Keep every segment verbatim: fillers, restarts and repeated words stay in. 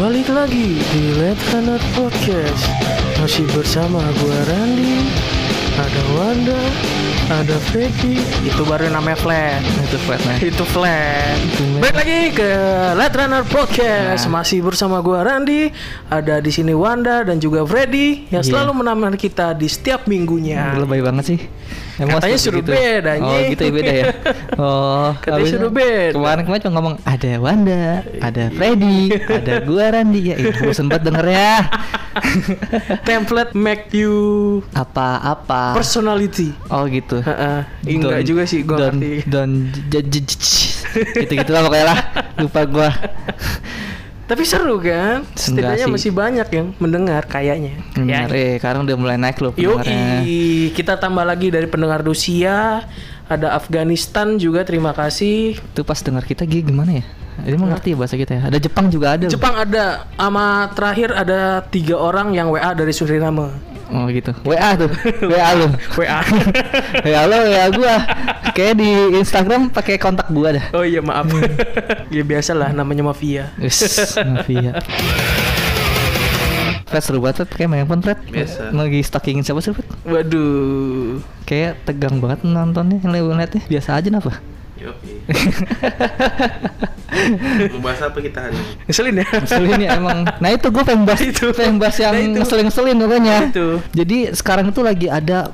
Balik lagi di Let's Runner Podcast. Masih bersama gue Randy, ada Wanda, ada Freddy. Itu baru namanya Flat. Itu flat nih. Itu Flat. Balik lagi ke Let's Runner Podcast. Nah. Masih bersama gue Randy, ada di sini Wanda dan juga Freddy yang Iya. selalu menemani kita di setiap minggunya. Lebay banget sih. Emang Katanya seperti suruh gitu. beda, Oh anjing. gitu ya, beda ya. Oh Katanya habisnya suruh beda. Kemarin-kemarin cuma ngomong ada Wanda, ada Freddy, ada gua Randy. Ya itu bosan banget dengernya. Template make you Apa-apa. personality. Oh gitu. Heeh. Enggak Don- juga sih gue don- ngerti. don j- j- j- gitu-gitu lah pokoknya lah. Lupa gua. Tapi seru kan? Setidaknya sih. masih banyak yang mendengar kayaknya. Benar, eh sekarang udah mulai naik loh pendengarnya. Yoi, kita tambah lagi dari pendengar Rusia, ada Afghanistan juga, terima kasih. Itu pas dengar kita Gi, gimana ya? Dia mengerti ya bahasa kita ya. Ada Jepang juga ada. loh. Jepang ada, sama terakhir ada tiga orang yang W A dari Suriname. Oh gitu. W A tuh. W A lu. W A. W A lu, W A gua. Kayak di Instagram pakai kontak gua dah. Oh iya maaf. Ya biasalah namanya mafia. Wis, mafia. Fred seru banget, Fred. Kayak main handphone, Fred. Biasa. Lagi stalkingin siapa sih, Fred? Waduh. Kayak tegang banget nontonnya, ngeliatnya. Biasa aja kenapa? Yopi. Mau bahas apa kita hari ini? Ngeselin ya? Ngeselin ya emang. Nah itu gue pengen bahas Itu. pengen bahas yang Nah, itu. ngeselin-ngeselin pokoknya. Itu. Jadi sekarang itu lagi ada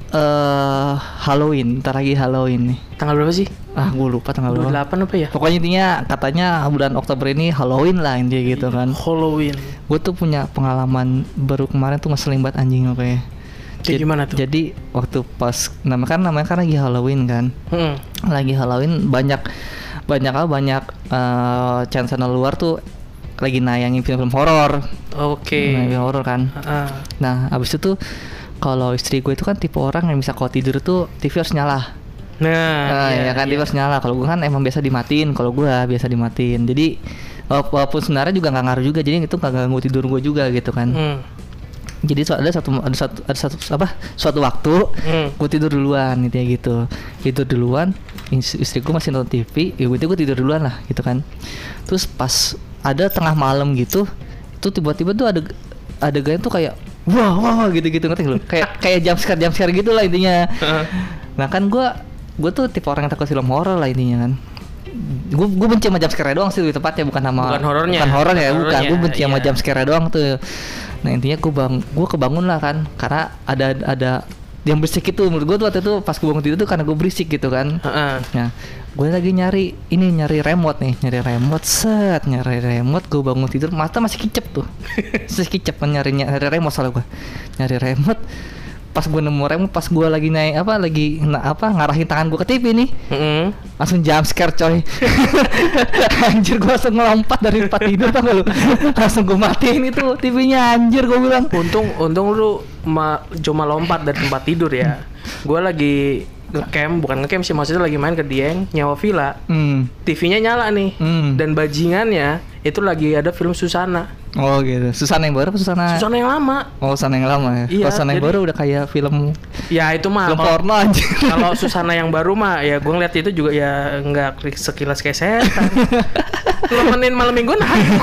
eh Halloween, ntar lagi Halloween nih. Tanggal berapa sih? Ah gue lupa tanggal dua puluh berapa. delapan apa ya? Pokoknya intinya katanya bulan Oktober ini Halloween lah intinya gitu kan. Halloween. Gue tuh punya pengalaman baru kemarin tuh ngeselin banget anjing pokoknya. Kayak Jad- gimana tuh? Jadi waktu pas nama kan namanya kan lagi Halloween kan. Hmm. Lagi Halloween banyak banyak apa banyak eh, channel luar tuh lagi nayangin film-film horor. Oke. Nayangin film horor kan. Ah. Nah, abis itu tuh kalau istri gue itu kan tipe orang yang bisa kalau tidur tuh T V harus nyala. Nah, Nah, iya, ya kan iya. T V harus nyala. Kalau gue kan emang biasa dimatiin. Kalau gue biasa dimatiin. Jadi wala- walaupun sebenarnya juga nggak ngaruh juga. Jadi itu nggak ganggu tidur gue juga gitu kan. Hmm. Jadi so- ada satu ada satu ada satu apa suatu waktu Hmm. gue tidur duluan gitu ya gitu. Tidur duluan. is- Istri gue masih nonton T V. Ya gue gue tidur duluan lah gitu kan. Terus pas ada tengah malam gitu, tuh tiba-tiba tuh ada adegan tuh kayak wah wah wah, gitu-gitu ngerti lu? Kayak kayak jump scare jump scare gitu lah intinya. Nah kan gue gue tuh tipe orang yang takut film horor lah intinya kan. Gue gue benci sama jump scare doang sih lebih tepatnya bukan sama Bukan horornya. bukan horor ya bukan. Horornya, Gue benci sama iya. jump scare doang tuh. Nah intinya gue bang gue kebangun lah kan karena ada ada yang berisik itu menurut gue tuh waktu itu pas gue bangun tidur tuh karena gue berisik gitu kan. Heeh. Nah, gue lagi nyari ini nyari remote nih, nyari remote set, nyari remote. Gue bangun tidur, mata masih kicep tuh, masih kicep kan nyari nyari remote soalnya gue, nyari remote. Pas gue nemu remote, pas gue lagi naik apa lagi na, apa ngarahin tangan gue ke T V nih, Heeh. langsung jump scare coy. Anjir gue langsung ngelompat dari tempat tidur tau gak lu? Langsung gue matiin itu T V-nya anjir gue bilang. Untung untung lu ma- cuma lompat dari tempat tidur ya. Gua lagi ngecamp, bukan ngecamp sih, maksudnya lagi main ke Dieng, nyawa villa. Hmm. T V-nya nyala nih. Hmm. Dan bajingannya itu lagi ada film Susana. Oh gitu. Susana yang baru apa Susana? Susana yang lama. Oh Susana yang lama ya. Iya, Kalau Susana yang jadi- baru udah kayak film Ya itu mah film kalau- porno anjir. Kalau Susana yang baru mah ya gue ngeliat itu juga ya nggak klik sekilas kayak setan. Lemenin malam mingguan ayo.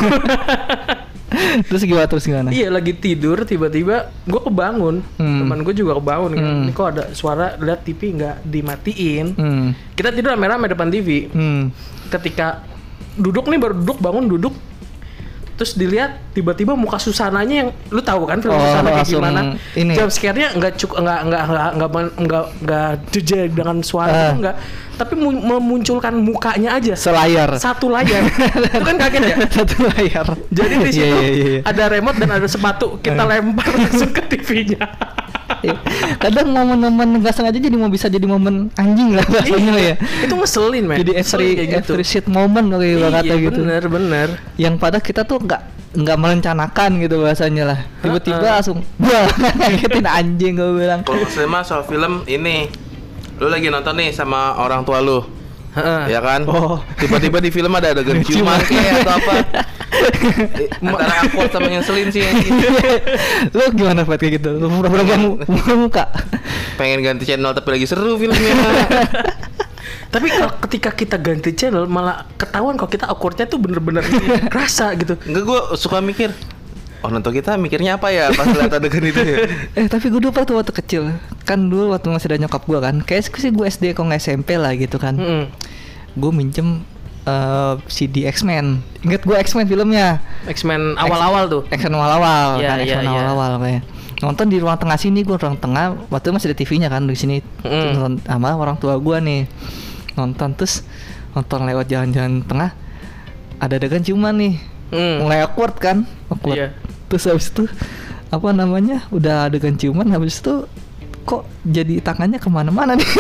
Terus gimana terus gimana? Iya lagi tidur tiba-tiba gue kebangun. Hmm. Teman gue juga kebangun kan. Hmm. Ini kok ada suara lihat T V nggak dimatiin. Hmm. Kita tidur rame-rame depan T V. Hmm. Ketika duduk nih baru duduk bangun duduk. Terus dilihat tiba-tiba muka Susananya yang lu tahu kan film Oh, Susana kayak langsung gimana? ini. Jump scare-nya enggak cuk enggak enggak enggak enggak enggak enggak jejak dengan suara Ah. itu enggak, tapi mu- memunculkan mukanya aja. Selayar. Satu layar. Itu kan kaget ya? Satu layar. Jadi di situ Iya, iya, iya. ada remote dan ada sepatu, kita lempar langsung ke T V-nya. Kadang momen-momen nggak sengaja jadi mau bisa jadi momen anjing lah bahasanya ya. Itu ngeselin, men. Jadi every Ngeselin kayak gitu. every shit moment kayak Iya, kata gitu. bener bener. Yang pada kita tuh nggak nggak merencanakan gitu bahasanya lah. Tiba-tiba Ha-ha. langsung wah ngagetin anjing gue bilang. Kalau nggak mah soal film ini, lu lagi nonton nih sama orang tua lu, Heeh. ya kan? Oh. Tiba-tiba di film ada adegan ciuman kayak atau apa? Eh, Antara awkward sama ngeselin sih. anjing. Lu gimana Fat kayak gitu? Lu pura-pura buka muka. Pengen ganti channel tapi lagi seru filmnya. Tapi kalau ketika kita ganti channel malah ketahuan kalau kita awkwardnya tuh bener-bener kerasa gitu. Enggak, gue suka mikir, oh nonton kita mikirnya apa ya pas lihat adegan itu ya. Eh tapi gue lupa tuh waktu kecil. Kan dulu waktu masih ada nyokap gue kan. Kayak sih gue S D kok nggak S M P lah gitu kan. Mm-hmm. Gue minjem uh, C D X-Men. Ingat gue X-Men filmnya. X-Men awal-awal tuh. X-Men awal-awal Ya, kan, ya, X-Men ya. awal-awal kayak. Nonton di ruang tengah sini, gue ruang tengah. Waktu itu masih ada T V-nya kan di sini. Mm. Nonton sama orang tua gue nih. Nonton terus nonton lewat jalan-jalan tengah. Ada adegan ciuman nih. Mm. Mulai awkward kan? Awkward. Iya. Terus habis itu apa namanya? Udah adegan ciuman, habis itu kok jadi tangannya kemana-mana nih.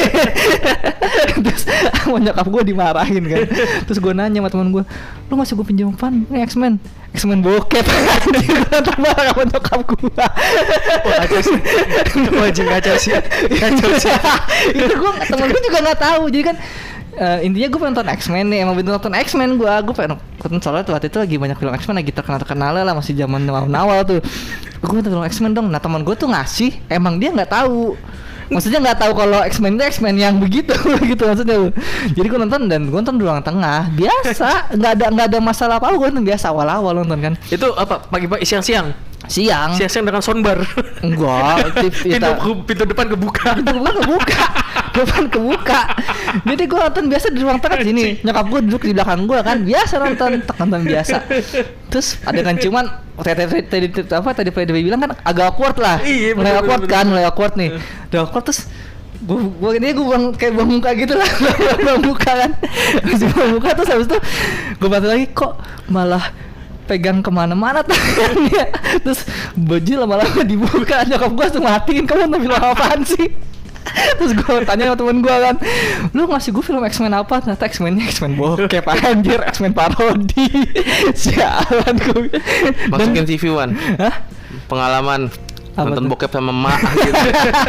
Terus sama nyokap gue dimarahin kan. Terus gue nanya sama teman gue, lu masih gue pinjam apaan? Ini X-Men, X-Men bokep. Dia marah sama nyokap gue. Wah kacau sih. Wajib kacau sih. Kacau sih. Itu gue temen gue juga nggak tahu. Jadi kan uh, intinya gue pengen nonton X-Men nih. Emang bener nonton X-Men gue. Gue pengen nonton, soalnya waktu itu lagi banyak film X-Men lagi terkenal-terkenal lah, masih zaman awal-awal tuh. Gue minta tolong X-Men dong. Nah teman gue tuh ngasih, emang dia nggak tahu. Maksudnya nggak tahu kalau X-Men itu X-Men yang begitu, gitu maksudnya. Jadi gue nonton dan gue nonton di ruang tengah, biasa, nggak ada nggak ada masalah apa, gue nonton biasa awal-awal nonton kan. Itu apa? Pagi-pagi siang-siang. Siang. Siang-siang dengan soundbar. Enggak, T V pintu, pintu depan kebuka. Pintu depan kebuka. Depan kebuka. Jadi gue nonton biasa di ruang tengah sini. Nyokap gue duduk di belakang gue kan, biasa nonton, tek nonton biasa. Terus ada kan cuman tadi tadi apa tadi Freddy bilang kan agak awkward lah. Iya, mulai bener, awkward bener, kan, bener. mulai awkward nih. Udah awkward terus gue gue ini gue buang kayak buang muka gitu lah. Buang muka kan. Terus buang muka terus habis itu gue bantu lagi kok malah pegang kemana-mana tangannya. Terus baju lama-lama dibuka, nyokap gue langsung matiin, kamu nonton film apaan sih? Terus gue tanya sama temen gue kan, lu ngasih gue film X-Men apa? Ternyata X-Men-nya X-Men bokep anjir, X-Men parodi. Sialan gue. Masukin T V One. Hah? Pengalaman Apa nonton tuh? bokep sama emak gitu.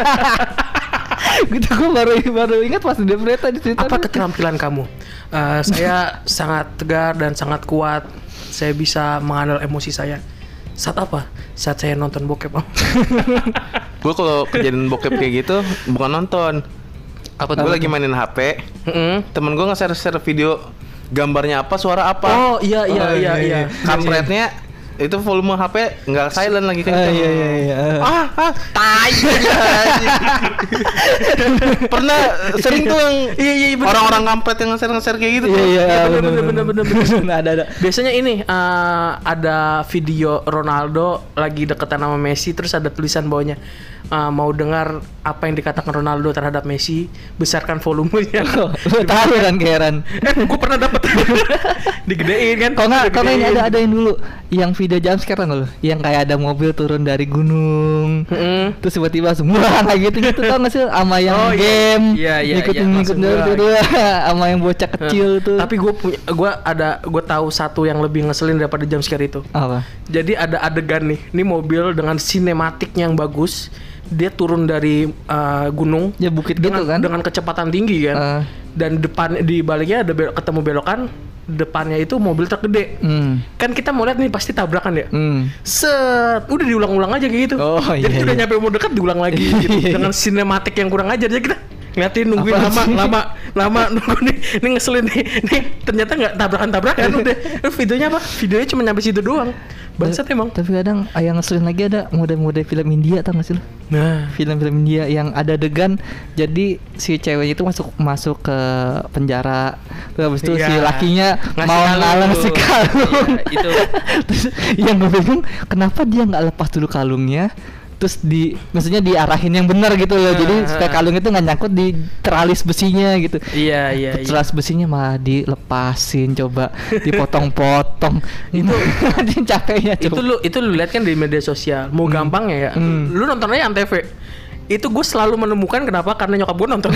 Gitu gue baru baru ingat pas di berita di Twitter. Apa keterampilan kamu? Uh, saya sangat tegar dan sangat kuat. Saya bisa menghandle emosi saya. Saat apa? Saat saya nonton bokep. Gue kalau kejadian bokep kayak gitu bukan nonton. Apa Gue lagi mainin H P. Mm-hmm. Temen gue nge-share share video gambarnya apa, suara apa. Oh iya iya Oh, iya iya, iya. Kampretnya itu volume H P nggak silent lagi kan. Ah, iya iya iya. Ah, ah, tai. Pernah sering tuh yang Iya iya bener. orang-orang kampret yang nge-share nge-share kayak gitu. Iya tuh. iya bener, bener, bener, bener, bener. Nah, ada ada. Biasanya ini uh, ada video Ronaldo lagi deketan sama Messi, terus ada tulisan bawahnya uh, mau dengar apa yang dikatakan Ronaldo terhadap Messi, besarkan volumenya. Lu tahu kan Karen? Eh, gue pernah dapet digedein kan? Kalau nggak, kalau nggak ini Digedein. ada adain dulu yang video jump scare kan lo, yang kayak ada mobil turun dari gunung, Mm-mm. terus tiba-tiba semua kayak gitu gitu tau nggak sih, sama yang Oh, iya. game, Iya, iya, ngikutin iya, ngikutin maksud dulu gua. sama yang bocah kecil tuh. Tapi gue punya, gue ada, gue tahu satu yang lebih ngeselin daripada jump scare itu. Apa? Jadi ada adegan nih, ini mobil dengan sinematiknya yang bagus, dia turun dari uh, gunung, Ya bukit dengan, gitu kan? dengan kecepatan tinggi kan, Uh. dan depan di baliknya ada belok, ketemu belokan, depannya itu mobil truk gede. Hmm. Kan kita mau lihat nih pasti tabrakan ya. Hmm. Set, udah diulang-ulang aja kayak gitu. Oh, Jadi iya, udah iya. nyampe mau dekat diulang lagi gitu. Iya, iya. Dengan sinematik yang kurang ajar aja kita ngeliatin nungguin Apaan lama, sih? lama lama nunggu nih, ini ngeselin nih, nih ternyata nggak tabrakan-tabrakan udah. Eh, videonya apa? Videonya cuma nyampe situ doang. Bangsat emang. Tapi kadang ah, yang ngeselin lagi ada mode-mode film India tau gak sih lo? Nah, Film-film India yang ada adegan jadi si ceweknya itu masuk masuk ke penjara, terus habis itu Iya. si lakinya Ngasih mau kalung ngalang tuh. si kalung. Iya, itu. Terus yang gue bingung kenapa dia nggak lepas dulu kalungnya, terus di maksudnya diarahin yang benar gitu loh, jadi Ah, supaya ah. kalung itu nggak nyangkut di teralis besinya gitu. iya iya iya. Teralis besinya malah dilepasin, coba dipotong-potong. Itu anjing capeknya coba. Itu lu itu lu lihat kan di media sosial. Mau gampangnya ya. Hmm. Lu nonton aja Antv. Itu gue selalu menemukan kenapa, karena nyokap gue nonton.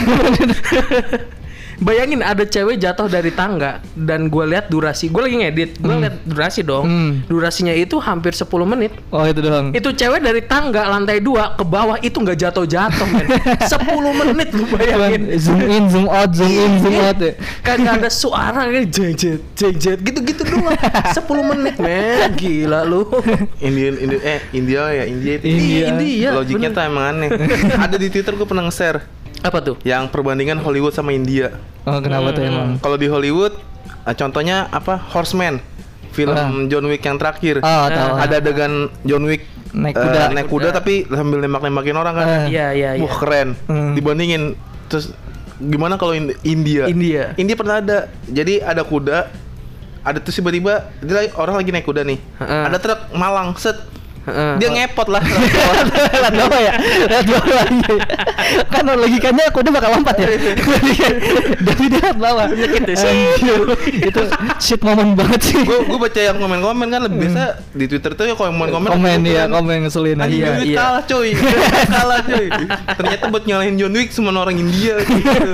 Bayangin ada cewek jatuh dari tangga dan gue lihat durasi. Gue lagi ngedit, gue Hmm. lihat durasi dong. Hmm. Durasinya itu hampir sepuluh menit. Oh itu doang. Itu cewek dari tangga lantai dua ke bawah itu nggak jatuh-jatuh men. sepuluh menit lu bayangin. Zoom in, zoom out, zoom in, zoom out ya. Kagak ada suara kayak jeng-jet, jeng-jet gitu-gitu doang. sepuluh menit men. Gila lu. Indian, Indian eh India ya India itu. India. India. Logiknya bener. tuh emang aneh. Ada di Twitter gue pernah nge-share. Apa tuh? Yang perbandingan Hollywood sama India. Oh, kenapa tuh emang? Kalau di Hollywood, eh, contohnya apa? Horseman, film Ah. John Wick yang terakhir. Oh, tahu. Ada adegan John Wick Naik eh, kuda. naik kuda tapi sambil nembak-nembakin orang kan. Ah. Iya, iya, iya. Wah keren. Hmm. Dibandingin terus gimana kalau Ind- India? India. India pernah ada. Jadi ada kuda, ada tuh tiba-tiba dia lagi- orang lagi naik kuda nih. Heeh. Ada truk malang set. Heeh. Dia ngepot lah. Lihat bawah ya, lihat bawah lagi. Kan logikanya kuda bakal lompat ya. Tapi dia lihat bawah. Anjir, itu shit moment banget sih. gue gue baca yang komen-komen kan lebih biasa di Twitter tuh ya komen-komen. Komen ya, kan, komen ngeselin Anjing aja. John Wick iya. kalah coy. Kalah coy. Ternyata buat nyalahin John Wick semua orang India gitu.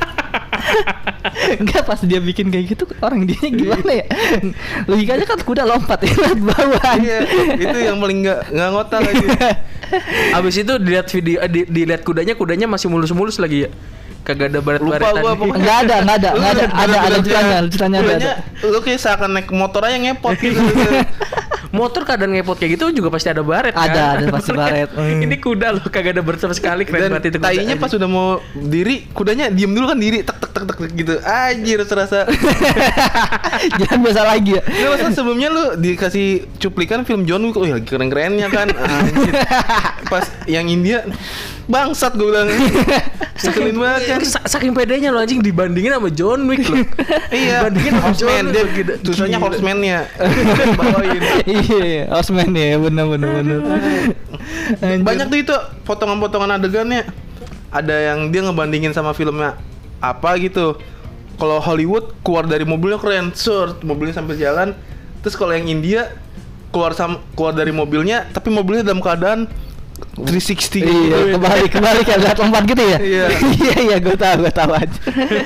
Enggak, pas dia bikin kayak gitu orang dia gimana ya? Logikanya kan kuda lompat ya, lihat bawah. Iya, itu yang paling nggak nggak ngotak lagi. Abis itu dilihat video, eh, di, dilihat kudanya, kudanya masih mulus-mulus lagi ya. Kagak ada baret-baretan. Lupa gua pokoknya. Enggak ada, enggak ada, Lu enggak ada, udah ada, ada bilang ceritanya, dia- ceritanya ada. kudanya, ada. Lu kayak seakan naik motor aja ngepot gitu. Motor keadaan ngepot kayak gitu juga pasti ada baret kan? Ada, ada pasti baret. Hmm. Ini kuda loh, kagak ada baret sama sekali. Keren Dan banget itu kuda. tainya pas udah mau diri, kudanya diem dulu kan diri, tek tek tek tek gitu. Anjir serasa. Jangan biasa lagi ya. Nggak, maksudnya sebelumnya lu dikasih cuplikan film John Wick, oh ya lagi keren-kerennya kan. Anjir. Pas yang India bangsat gue bilang. Saking banget kan. Sa- saking pedenya lo anjing dibandingin sama John Wick loh. Iya, Dibandingin sama John Horseman Wick dia loh, gila. tulisannya Gila. Horseman-nya. Bawain. Iya, Osman ya, bener bener bener. Anjir. Banyak tuh itu potongan-potongan adegannya. Ada yang dia ngebandingin sama filmnya apa gitu. Kalau Hollywood keluar dari mobilnya keren, sur, mobilnya sambil jalan. Terus kalau yang India keluar sam keluar dari mobilnya, tapi mobilnya dalam keadaan tiga enam nol gitu. Iya, kebalik kebalik ya, lihat lompat gitu ya. Iya. Iya iya, gue tahu gue tahu aja.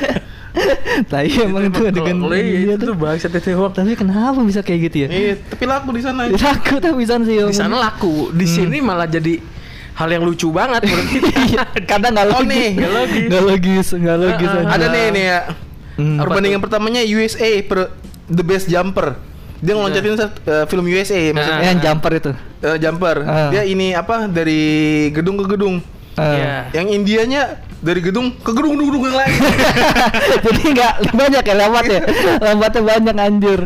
Tapi emang itu adegan Kalau dia itu tuh tuh. bangsat itu Wak. Tapi kenapa bisa kayak gitu ya? Iya, tapi laku di sana. Laku tapi bisa sih. Di sana laku, di sini malah jadi hal yang lucu banget menurut kita. Kadang nggak Oh, logis. nih, nggak logis. Nggak logis, nggak logis. Ah, ah, aja. Ada nih nih ya. Hmm. Perbandingan pertamanya U S A per The Best Jumper. Dia ngeloncatin uh, film U S A maksudnya. Yang jumper itu. Eh, jumper. Ah. Dia ini apa dari gedung ke gedung. Ah. Iya. Yang Indianya dari gedung ke gedung gedung yang lain. Jadi nggak banyak ya lewat ya. Lambatnya banyak anjir.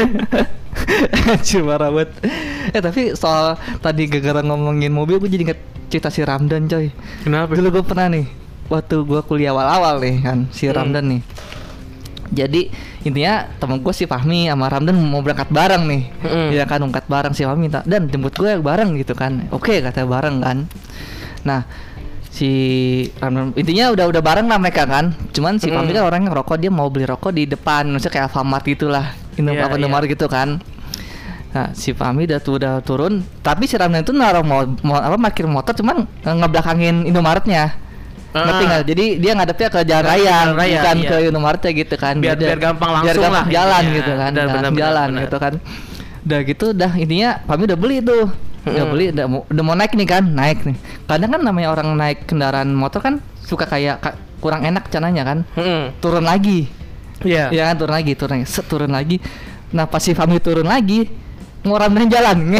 Anjir marah banget. Eh tapi soal tadi gara-gara ngomongin mobil, gue jadi inget cerita si Ramdan coy. Kenapa? Dulu gue pernah nih, waktu gue kuliah awal-awal nih kan, si Hmm. Ramdan nih. Jadi intinya temen gue si Fahmi sama Ramdan mau berangkat bareng nih. Hmm. Ya kan, berangkat bareng si Fahmi minta, dan jemput gue bareng gitu kan. Oke kata bareng kan. Nah si Ramdan intinya udah udah bareng lah mereka kan. Cuman si Hmm. Fahmi kan orangnya ngerokok, dia mau beli rokok di depan, maksudnya kayak Alfamart gitulah, Indo Iya, apa iya. Indomaret gitu kan. Nah, si Fahmi udah tuh udah turun, tapi si Ramdan itu naruh mau, mau apa parkir motor cuman nge- ngebelakangin Indomaretnya. Ngerti Ah. nggak? Jadi dia ngadepnya ke jalan Ke raya, jalan raya, bukan iya. ke Indomaretnya gitu kan. Biar- Beda. biar gampang Biar langsung gampang lah jalan intinya. gitu kan, Benar, gampang benar, benar, jalan benar. gitu kan. Udah gitu, dah intinya Fahmi udah beli tuh, udah Mm-mm. beli, udah mau, udah mau naik nih kan, naik nih. Kadang kan namanya orang naik kendaraan motor kan suka kayak ka- kurang enak cananya kan, Hmm. turun lagi. Iya. Ya kan, turun lagi, turun lagi, set, turun lagi. Nah pas si Fahmi turun lagi, mau Ramdan jalan,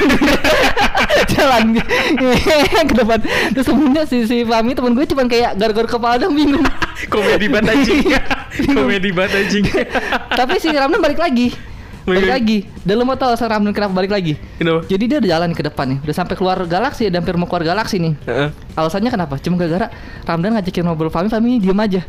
jalan ke depan. Terus sebenarnya si si Fahmi temen gue cuman kayak garuk-garuk kepala dong, bingung. Komedi banget anjing. Komedi banget anjing. Tapi si Ramdan balik lagi, balik Balik. lagi. Dan lu mau tahu alasan Ramdan kenapa balik lagi? Kenapa? Jadi dia udah jalan ke depan nih, udah sampai keluar galaksi, udah hampir mau keluar galaksi nih. Heeh. Alasannya kenapa? Cuma gara-gara Ramdan ngajakin ngobrol Fahmi, Fahmi diem aja.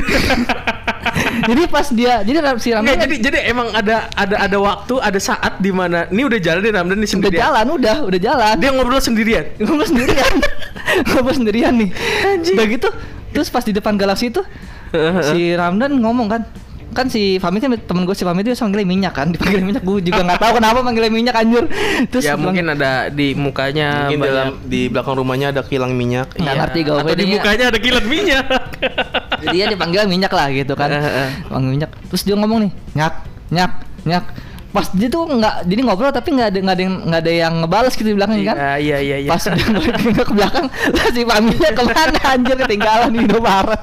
Jadi pas dia, jadi Ram- si Ramdan Nggak, jadi jadi emang ada ada ada waktu, ada saat di mana ini udah jalan nih Ramdan nih udah sendirian. jalan, udah, udah jalan. Dia ngobrol sendirian. Ngobrol sendirian. Ngobrol sendirian nih. Udah gitu, terus pas di depan galaksi itu si Ramdan ngomong kan, kan si Fahmi kan temen gue, si Fahmi itu manggilnya minyak kan, dipanggil minyak, gue juga nggak tahu kenapa manggilnya minyak anjir. Terus Ya bilang, mungkin ada di mukanya Mungkin banyak- dalam di belakang rumahnya ada kilang minyak. nggak Iya. ngerti gue Atau di mukanya ada kilat minyak. jadi dia dipanggil minyak lah gitu kan. Heeh. Panggil minyak. Terus dia ngomong nih, nyak, nyak, nyak. Pas dia tuh nggak, jadi ngobrol tapi nggak ada nggak ada yang nggak ada yang ngebales gitu di belakang kan. Iya iya iya iya. Pas dia balik ke belakang, lah si Fahmi-nya kemana anjir, ketinggalan di Indomaret.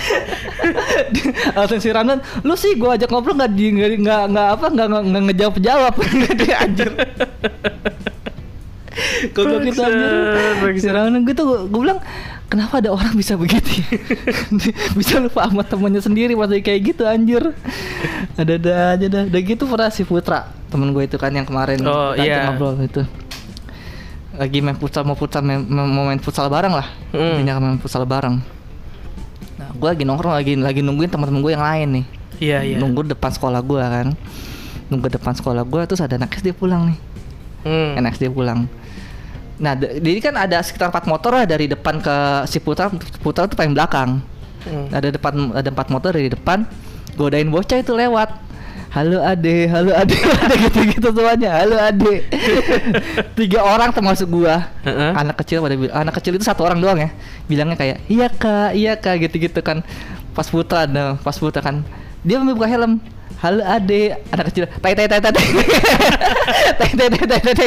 Alasan si Ramdan, lu sih gua ajak ngobrol nggak di nggak nggak nggak apa nggak nggak- nggak ngejawab jawab. Dia anjir. Goblok itu anjir. Bangsat, Si Ramdan gue tuh gue bilang kenapa ada orang bisa begitu? Bisa lupa sama temannya sendiri masih kayak gitu anjir. Ada-ada aja dah. Udah gitu pernah si Putra, temen gue itu kan yang kemarin Oh, kita iya. ngobrol itu. Lagi main futsal mau futsal main, mau main futsal bareng lah. Hmm. Intinya main futsal bareng. Nah, gue lagi nongkrong lagi lagi nungguin teman-teman gue yang lain nih. Iya, iya. Nunggu depan sekolah gue kan. Nunggu depan sekolah gue terus ada anak S D pulang nih. Hmm. Anak S D pulang. Nah, d- jadi kan ada sekitar empat motor lah dari depan ke si Putra. Putra tuh paling belakang. Hmm. Ada depan ada empat motor dari depan. Godain bocah itu lewat. Halo ade, halo ade, ada gitu-gitu semuanya. Halo ade. Tiga orang termasuk gua. Heeh. Anak kecil pada bil- anak kecil itu satu orang doang ya. Bilangnya kayak, "Iya Kak, iya Kak," gitu-gitu kan. Pas Putra nah, pas Putra kan dia mau buka helm. Halo ade, anak kecil. Tai tai tai tai. Tai tai tai tai tai.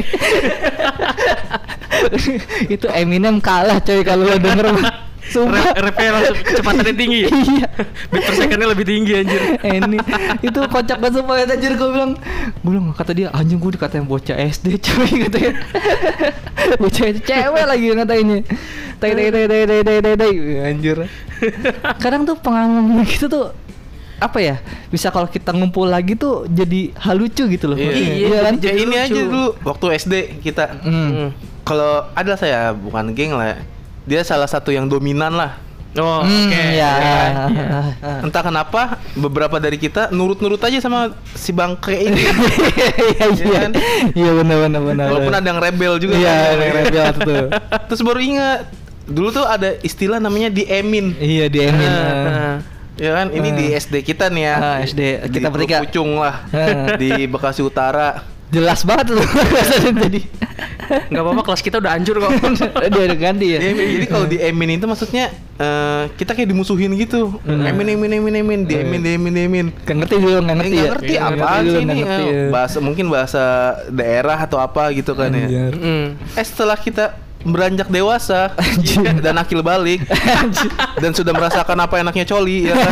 Itu Eminem kalah coy kalau lo denger. Sumpah. Rap rapnya langsung kecepatannya tinggi ya? Iya. Beat per secondnya lebih tinggi anjir. Ini itu kocak banget sumpah anjir, gue bilang. Gue bilang kata dia anjing, gue dikatain bocah S D coy katanya. Bocah itu cewek lagi ngatainnya. Tai tai tai tai tai tai tai tai anjir. Kadang tuh pengalaman gitu tuh apa ya, bisa kalau kita ngumpul lagi tuh jadi hal lucu gitu loh. Iya. Iya, kan? jadi Ya ini lucu. aja dulu waktu S D kita. Hmm. Kalau ada saya bukan geng lah ya. Dia salah satu yang dominan lah. Oh, Hmm, oke. ya. Iya. Entah kenapa beberapa dari kita nurut-nurut aja sama si bangke ini. Iya iya. kan? Iya benar benar benar. Walaupun ada yang rebel juga. Iya, kan. yang rebel tuh. Terus baru ingat dulu tuh ada istilah namanya diemin. Iya di Emin. Nah, Ya kan, ini di S D kita nih ya. Ah, S D kita di bertiga. Teluk Pucung lah. Ah. Di Bekasi Utara. Jelas banget loh. Jadi nggak apa-apa, kelas kita udah hancur kok. dia udah ganti ya. Diemin. Jadi kalau diemin itu maksudnya eh, kita kayak dimusuhin gitu. Emin emin emin emin diemin diemin diemin. Gak ngerti dulu, gak Eh, ngerti nggak ya. ngerti Nggak apa ngerti sih dulu, ini nggak ngerti eh, ya. bahasa mungkin bahasa daerah atau apa gitu kan ya. Anjir. Hmm. Eh setelah kita beranjak dewasa dan akil balik dan sudah merasakan apa enaknya coli ya kan?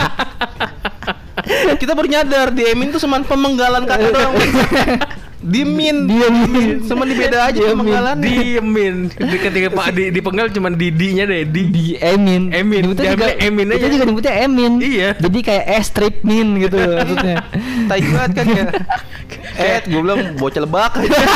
Kita baru nyadar diemin tuh cuma pemenggalan kata doang. Dimin, Diemin. cuma dibeda aja pemenggalan. Diemin. Di ketika Pak di dipenggal cuman didinya deh, di. Di Emin. Emin. Nyebutnya juga Diambil Emin Kita aja. juga nyebutnya Emin. Iya. Jadi kayak es strip min gitu maksudnya. Tai banget kan ya. Eh, gue bilang bocah lebak.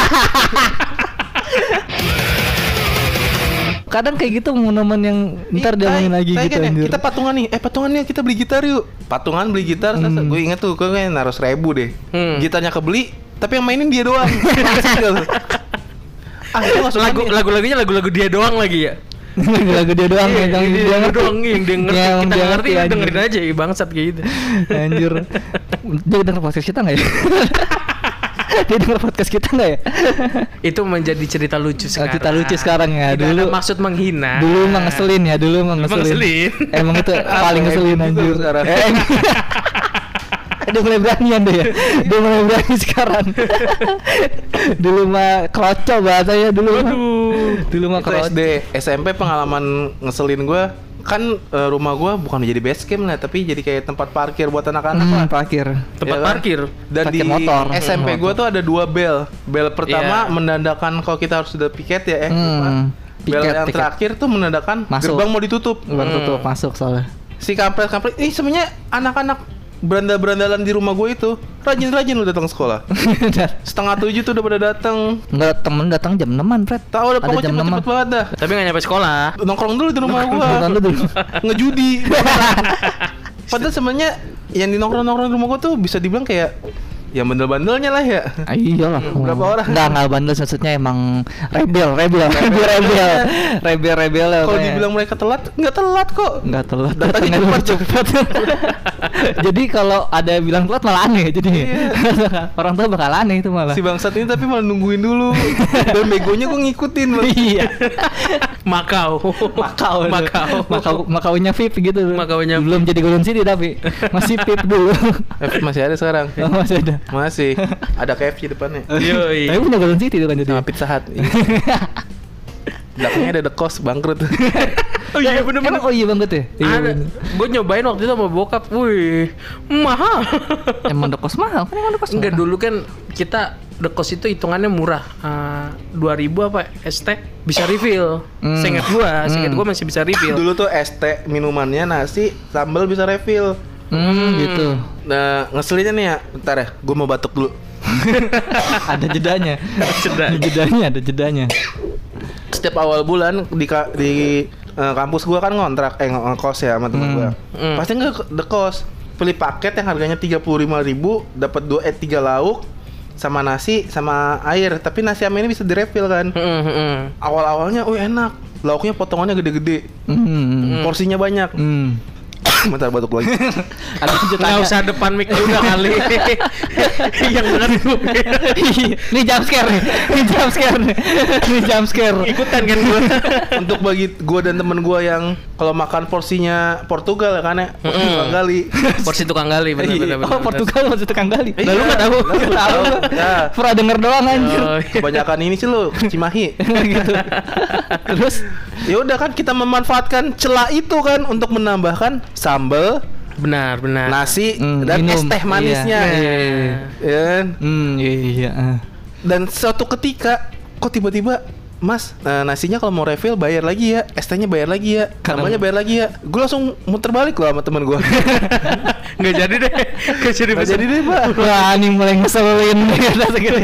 Kadang kayak gitu momen-momen yang ntar dia main lagi Tai gitu kan ya, anjir. kita patungan nih, eh patungan nih kita beli gitar yuk. Patungan beli gitar, Hmm. gue inget tuh gue kayak naruh seribu deh. Hmm. Gitarnya kebeli, tapi yang mainin dia doang. Langsung gue. Ah, itu masuk Lagu lagu-lagunya lagu-lagu dia doang lagi ya. Lagu dia doang Iya, yang dia, dia dia ngerti. doang yang dia ngerti. Yang Kita dia ngerti, anjir. dengerin aja ya, bangsat kayak gitu. Anjir. Dia denger podcast kita enggak ya? Dia denger podcast kita enggak ya? Itu menjadi cerita lucu Oh, sekarang. cerita lucu sekarang ya. Tidak ada Dulu maksud menghina. Dulu emang ngeselin ya, dulu emang Emang ngeselin. ngeselin. Emang itu paling Emin ngeselin juga anjir. sekarang. Eh, Emin. Dia mulai beranian deh ya. Dia mulai berani sekarang. Dulu mah kroco bahasanya dulu mah. Aduh. Dulu mah Itu kroco. S D, S M P pengalaman ngeselin gue kan eh, rumah gue bukan jadi base camp lah, tapi jadi kayak tempat parkir buat anak-anak Hmm, lah. parkir. Tempat Ya kan? parkir. Dan Parkir di motor. S M P Hmm, gue tuh ada dua bel. Bel pertama Iya. menandakan kalau kita harus sudah piket ya. Eh, Hmm, lupa. Bel piket, yang piket. terakhir tuh menandakan Masuk. gerbang mau ditutup. Baru Hmm. tutup masuk soalnya. Si kampret-kampret ini sebenarnya anak-anak berandal-berandalan di rumah gue itu rajin-rajin lu datang sekolah. Setengah tujuh tuh udah pada datang. Enggak, temen datang jam enaman, Fred. Tahu udah Ada pokoknya jam cepet-cepet banget dah. Tapi nggak nyampe sekolah. Nongkrong dulu di rumah gua. Bukan lu dulu. Ngejudi. Padahal sebenarnya yang di nongkrong-nongkrong di rumah gua tuh bisa dibilang kayak yang bandel-bandelnya lah ya. Ah, iyalah. Berapa orang? Enggak, enggak bandel maksudnya emang rebel, rebel, rebel, rebel. Rebel, rebel lah. Kalau pokoknya. dibilang mereka telat, nggak telat kok. Enggak telat, Datangnya datangnya cepat. cepat. Jadi kalau ada yang bilang telat malah aneh jadi. Orang tua bakal aneh itu malah. Si bangsat ini tapi malah nungguin dulu. Dan begonya gua ngikutin. Bang. Iya. Makau. Makau, Makau. Makau, Makaunya V I P gitu. Makaunya belum jadi Golden City tapi masih V I P dulu. Eh, masih ada sekarang. Oh, masih ada. Masih. Ada K F C depannya. Yoi. Tapi punya Golden City itu kan jadi. Sama Pizza Hut. Belakangnya ada The Cost bangkrut. Oh iya bener-bener. Emang, oh iya banget ya. Iya, Ada. bener. Gue nyobain waktu itu sama bokap. Wih, mahal. Emang udah kos mahal kan emang udah kos Enggak, mahal. dulu kan kita The Cost itu hitungannya murah. Uh, dua ribu apa S T bisa refill. Hmm. Seingat gua, seingat Hmm. gua masih bisa refill. Dulu tuh es teh minumannya nasi sambal bisa refill. Hmm, gitu. Nah, ngeselinnya nih ya. Bentar ya, gue mau batuk dulu. Ada jedanya. Jeda. Ada jedanya, ada jedanya. Setiap awal bulan di ka- di uh, kampus gua kan ngontrak eh ng- ngekos ya sama teman Hmm. gua. Hmm. Pasti nggak The Cost. Pilih paket yang harganya tiga puluh lima ribu, dapat dua eh tiga lauk sama nasi sama air. Tapi nasi sama ini bisa direfill kan. Mm, mm. Awal-awalnya, oh enak. Lauknya potongannya gede-gede. Hmm. Porsinya banyak. Hmm. Bentar batuk lagi. Ada Nggak jedanya. usah depan mic juga kali. Yang benar gue. Ini jump scare nih. Ini jump scare nih. Ini jump scare. Ikutan kan gue. Untuk bagi gua dan temen gua yang kalau makan porsinya Portugal ya kan ya, porsi Mm-mm. tukang gali. Porsi tukang gali benar-benar. Oh, Portugal masih tukang gali. Iya. Lalu nggak tahu. Lalu nggak tahu. Ya. Pernah denger doang anjir. Oh, iya. Kebanyakan ini sih lu Cimahi. Gitu. Terus Ya udah kan kita memanfaatkan celah itu kan untuk menambahkan sambal, Benar, benar. nasi Hmm, dan es minum. teh manisnya. Iya, iya, iya. Ya kan? hmm iya iya. ah. Dan suatu ketika kok tiba-tiba Mas, nah, nasinya kalau mau refill bayar lagi ya, es tehnya bayar lagi ya, Karena- sambalnya bayar lagi ya. Gue langsung muter balik loh sama temen gue. Nggak jadi deh. Nggak jadi Nggak pesan. jadi deh pak. Wah, ini mulai ngeselin kata segitu.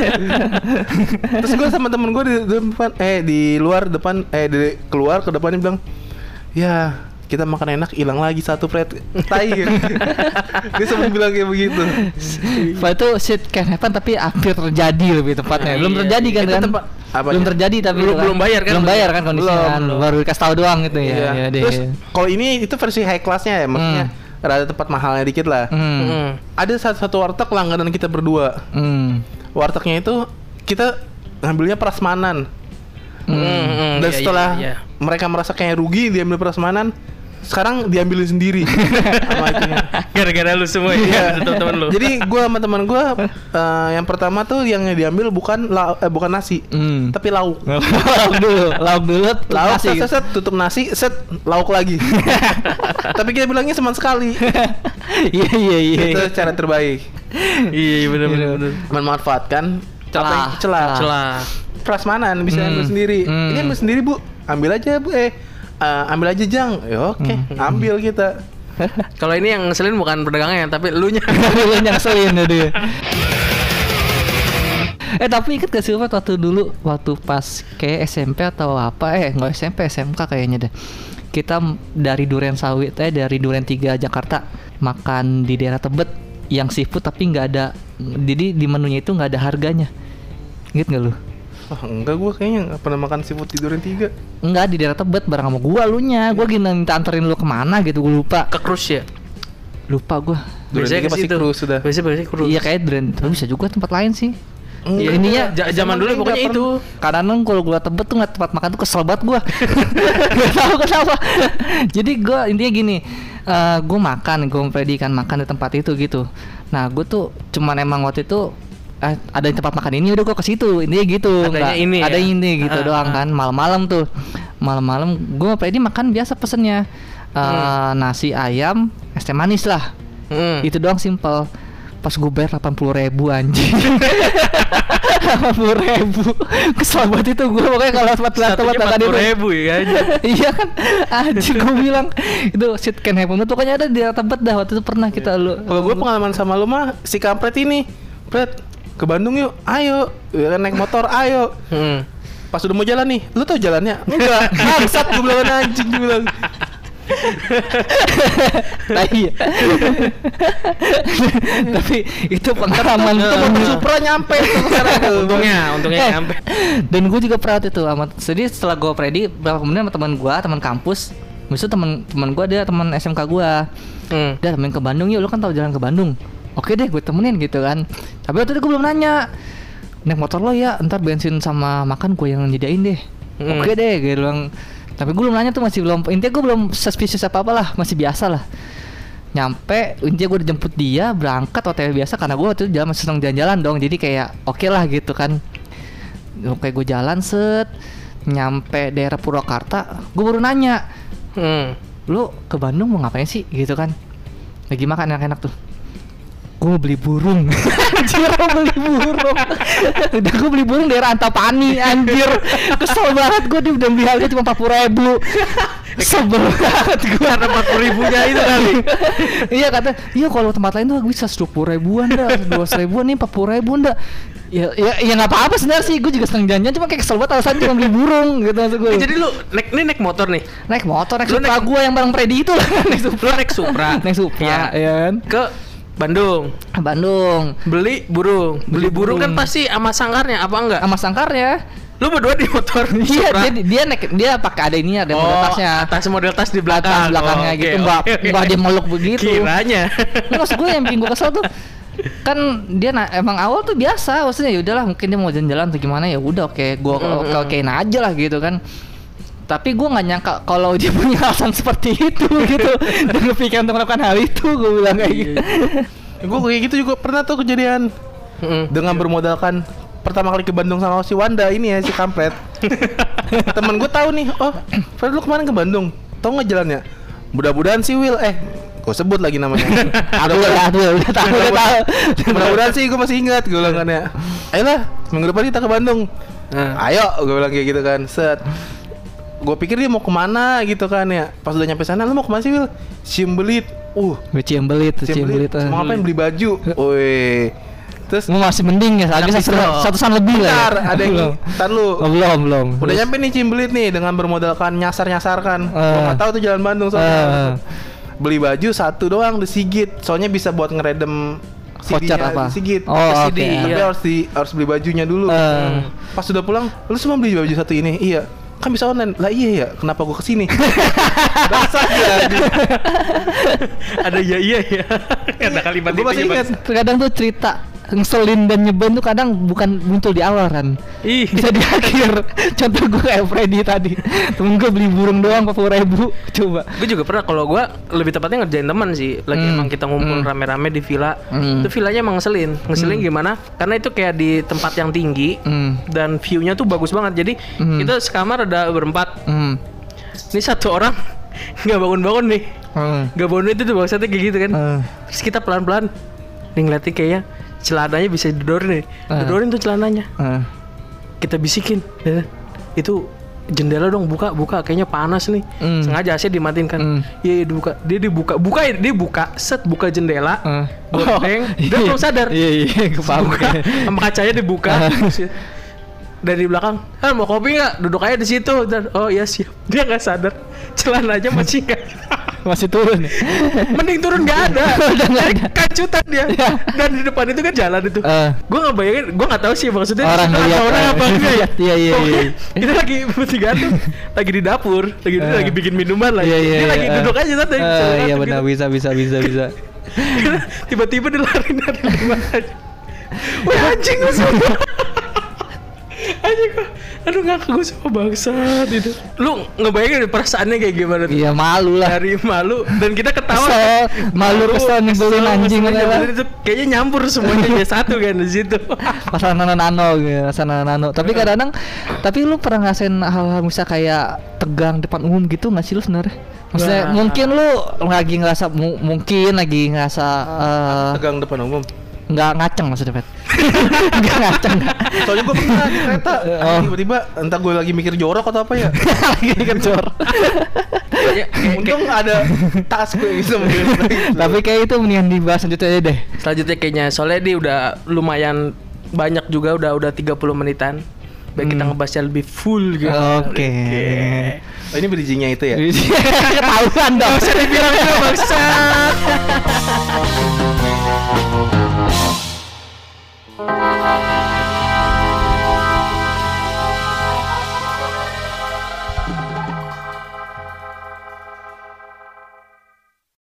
Terus gue sama temen gue di depan, eh di luar depan, eh di keluar ke depannya bilang, ya kita makan enak hilang lagi satu plate tai. Dia sempat bilang kayak begitu. Pak itu shit can happen tapi hampir terjadi lebih tepatnya. Belum Iya, terjadi kan itu kan? tempat- apanya? Belum terjadi tapi Belum- itu kan. belum bayar kan? Belum bayar kan kondisinya. Belum, kan? belum. Baru dikasih tahu doang gitu ya. Iya. Ya deh. Terus kalau ini itu versi high classnya ya, maksudnya rada tempat mahalnya dikit lah. Hmm. Mm. Ada satu, satu warteg langganan kita berdua. Hmm. Wartegnya itu kita ngambilnya prasmanan. Mm, mm, Dan iya, setelah iya, iya. mereka merasa kayak rugi diambil prasmanan, sekarang diambilin sendiri sama itunya. Gara-gara lu semua ya, teman-teman lu. Jadi gua sama teman gua eh, yang pertama tuh yang diambil bukan lau- eh, bukan nasi, Hmm. tapi lauk. lauk dulu, lauk dulu, Lauk nasi set, gitu. set, set, tutup nasi, set lauk lagi. Tapi kita bilangnya cuma sekali. Iya iya iya. Itu cara terbaik. Iya, benar benar benar. Memanfaatkan Celah. apa yang- celah. Celah. Prasmanan bisa Hmm. ambil sendiri. Hmm. Ini ambil sendiri bu, ambil aja bu. Eh eh, ambil aja Jang. Ya oke, Hmm. ambil kita. Kalau ini yang ngeselin bukan pedagangnya, tapi elunya. Lu nyangselin ya dia. Eh tapi inget gak sih Pak waktu dulu waktu pas kayak S M P atau apa eh nggak S M P S M K kayaknya deh kita m- dari Duren Sawit eh dari Duren tiga Jakarta makan di daerah Tebet yang seafood tapi nggak ada jadi di menunya itu nggak ada harganya inget nggak lu? Wah enggak gua kayaknya nggak pernah makan seafood di Duren tiga. Enggak di daerah Tebet bareng sama gua lu nya gua gini minta anterin lu kemana gitu gua lupa Ke cruise ya. lupa gua Duren Biasanya tiga ke pasti situ. cruise sudah. Biasanya biasanya cruise. iya kayak Duren tapi bisa juga tempat lain sih. Iya, ininya ja- zaman dulu pokoknya itu. Kadang kalau gua Tebet tuh nggak tempat makan tuh kesel banget gua. Gak tahu kenapa. Jadi gua intinya gini, eh gua makan, gua Freddy kan makan di tempat itu gitu. Nah, gua tuh cuman emang waktu itu eh, ada di tempat makan ini udah gua ke situ. Intinya gitu. Adanya Nggak- ini ada ya? ini gitu Ah, doang ah. kan. Malam-malam tuh. Malam-malam gua sama Freddy makan biasa pesennya. Eh, nasi ayam, es teh manis lah. Hmm. Itu doang simpel. Pas gue bayar delapan puluh ribu anjing. delapan puluh ribu. Kesel banget itu gue pokoknya kalau tempat tempat Satunya makan empat itu. puluh ribu ya. Iya kan. Anjir gue bilang itu shit can happen. Itu pokoknya ada di Tebet dah waktu itu pernah kita lu. Kalau gue pengalaman sama lu mah si kampret ini, Pret, ke Bandung yuk, ayo, ya kan naik motor, ayo. Hmm. Pas udah mau jalan nih, lu tau jalannya? Enggak, bangsat gue bilang anjing gue bilang. Nah, iya. Tapi itu pengalaman Itu mobil Supra nyampe tuh sekarang tuh. Untungnya, untungnya Eh, nyampe. Dan gue juga pernah itu sama. Jadi setelah gue Freddy, berapa kemudian sama teman gue, teman kampus. Misal teman teman gue dia teman S M K gue. Hmm. Udah temenin ke Bandung yuk, lu kan tahu jalan ke Bandung. Oke deh, gue temenin gitu kan. Tapi waktu itu gue belum nanya. Naik motor lo ya, ntar bensin sama makan gue yang nyediain deh. Hmm. Oke deh, gue bilang. Tapi gue belum nanya tuh masih belum. Intinya gue belum suspicious apa apa lah, masih biasa lah. Nyampe, intinya gue udah jemput dia berangkat O T W biasa karena gue waktu itu jalan masih seneng jalan-jalan dong. Jadi kayak oke lah gitu kan. Oke gue jalan set, nyampe daerah Purwakarta, gue baru nanya. Hmm. Lu ke Bandung mau ngapain sih gitu kan? Lagi makan enak-enak tuh. gue mau beli burung. Anjir, gue beli burung. Udah gue beli burung daerah Antapani, anjir. Kesel banget gue, dia udah beli harga cuma empat puluh ribu. Sebel banget gue. Karena empat puluh ribunya itu kali. Iya kata, iya kalau tempat lain tuh bisa dua puluh ribuan dah, dua ratus ribuan nih, empat puluh ribuan dah. Ya, ya, ya nggak apa-apa sebenarnya sih, gue juga seneng janjian, cuma kayak kesel banget alasan cuma beli burung gitu maksud gue. Eh, jadi lu naik ini naik motor nih. Naik motor, naik Lu Supra naik- gue yang bareng Freddy itu lah. Naik Supra. Lu naik Supra. Naik Supra, Iya. ya kan? Ke Bandung. Bandung. Beli burung. Beli Beli burung kan burung. pasti sama sangkarnya apa enggak? Sama sangkarnya. Lu berdua di motor Iya, Supra. dia dia naik dia pakai ada ininya, ada model tasnya. atas model tas di belakang. Atas belakangnya Oh, gitu, oke, enggak oke, oke. enggak dia meluk begitu. Kiranya. Nah, maksud gue yang bikin gue kesel tuh kan dia na- emang awal tuh biasa, maksudnya ya udahlah mungkin dia mau jalan-jalan atau gimana, ya udah oke gue Mm, oke mm. okein aja lah gitu kan. Tapi gue nggak nyangka kalau dia punya alasan seperti itu gitu dan kepikiran untuk melakukan hal itu, gue bilang kayak gitu. Gue kayak gitu juga pernah tuh kejadian. Mm. Dengan bermodalkan pertama kali ke Bandung sama si Wanda ini ya, si kampret. Temen gue tahu nih, oh Fred lu kemarin ke Bandung, tau nggak jalannya? Mudah-mudahan sih Will, eh gue sebut lagi namanya. Aku udah tahu, udah tahu, udah tahu. Mudah-mudahan sih gue masih ingat, gue bilang kan ya. Ayolah, minggu depan kita ke Bandung. Nah. Ayo, gue bilang kayak gitu kan. Set. Gue pikir dia mau kemana gitu kan ya. Pas udah nyampe sana, lu mau kemana sih Will? Ciumbelit. Uh, Gue cium belit, cium belit. Mau ngapain, beli baju? Woi. Terus Gue masih mending ya, lagi satu satusan lebih lah. bentar, ada yang ntar lu. Oh, belum, belum. Udah nyampe nih Cimbelit nih dengan bermodalkan nyasar-nyasarkan. Eh. Gua nggak tahu tuh jalan Bandung Eh. soalnya. Beli baju satu doang di Sigit. Soalnya bisa buat ngeredem C D-nya Voucher apa? di Sigit. Oh, C D, oke. Tapi iya. harus di harus beli bajunya dulu. Eh. Pas sudah pulang, lu cuma beli baju satu ini. Iya. Kan bisa online. Lah iya ya, kenapa gua kesini? Dasar ya. Ada ya iya ya. Ada kalimat Gua masih itu ya, ingat. Bang. Terkadang tuh cerita ngeselin dan nyebelin tuh kadang bukan muncul di awal kan, Ih. bisa di akhir. Contoh gue kayak Freddy tadi, temen gue beli burung doang empat puluh ribu, coba. Gue juga pernah, kalau gue lebih tepatnya ngerjain teman sih. Lagi Hmm. emang kita ngumpul Hmm. rame-rame di villa. Hmm. Itu villanya emang ngeselin. Ngeselin Hmm. gimana? Karena itu kayak di tempat yang tinggi Hmm. dan view-nya tuh bagus banget. Jadi Hmm. kita sekamar ada berempat. Hmm. Ini satu orang nggak bangun-bangun nih. Hmm. Nggak bangun itu tuh bangsatnya kayak gitu kan. Hmm. Terus kita pelan-pelan nih ngeliatin kayaknya celananya bisa didor nih. Hmm. Didorin tuh celananya. Hmm. Kita bisikin, "Dan, itu jendela dong buka buka kayaknya panas nih." Hmm. Sengaja A C dimatiin kan. Hmm. Iya, iya, dibuka. Dia dibuka buka dia buka set buka jendela. Hmm. Gordeng, dia belum sadar. Iya iya, kepaham. Buka, sama kacanya dibuka. Dari belakang, "Ah, mau kopi nggak? Duduk aja di situ." Dan oh iya siap. Dia nggak sadar. Celananya masih nggak. Masih turun. Mending turun nggak ada. Udah nggak ada. Kacutan dia. Ya. Dan di depan itu kan jalan itu. Eh. Gue nggak bayangin, gue nggak tahu sih maksudnya Orang ada ngeliat, orang eh. apa enggak ya. Iya, iya, Pokoknya iya. Kita lagi bertiga tuh lagi di dapur, lagi Eh. lagi bikin minuman lah. Iya iya. Dia lagi iya. duduk aja santai. Eh, Jalan iya gitu. benar, bisa bisa bisa bisa. Tiba-tiba dia lari dari rumah aja. Wah anjing gue semua. Anjing gue. Aduh ngakak gue sama bangsat itu. Lu ngebayangin perasaannya kayak gimana tuh? Iya malu lah. Dari malu dan kita ketawa. Kesel, malu, kesel, nyebelin, anjing, kesel, apa-apa. nyebelin itu kayaknya nyampur semuanya jadi satu kan di situ. Pasal nano-nano gitu, pasal nano-nano. Tapi kadang-kadang, tapi lu pernah ngerasain hal-hal misal kayak tegang depan umum gitu nggak sih lu sebenarnya? Maksudnya Wah. mungkin lu lagi ngerasa mu- mungkin lagi ngerasa eh, Tegang depan umum. nggak ngaceng maksudnya Pet. Nggak ngaceng. Soalnya gue pernah di kereta. Oh. Tiba-tiba entah gue lagi mikir jorok atau apa ya. Lagi kencor. Untung ada tas gue bisa mungkin. Tapi kayak itu mendingan dibahas lanjut aja deh. Selanjutnya kayaknya soalnya dia udah lumayan banyak juga, udah udah tiga puluh menitan. Baik kita Hmm. ngebahasnya lebih full gitu. Oke. Oh, ini bridging-nya itu ya. Ketahuan dong. Bisa dibilang juga bangsat.